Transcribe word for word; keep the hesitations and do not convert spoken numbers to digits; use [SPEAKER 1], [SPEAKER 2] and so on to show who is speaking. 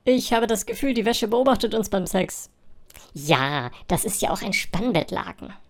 [SPEAKER 1] Ich habe das Gefühl, die Wäsche beobachtet uns beim Sex.
[SPEAKER 2] Ja, das ist ja auch ein Spannbettlaken.